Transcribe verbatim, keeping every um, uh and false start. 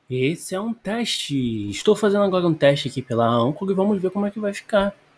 Esse é um teste. Estou fazendo agora um teste aqui pela Anchor e vamos ver como é que vai ficar.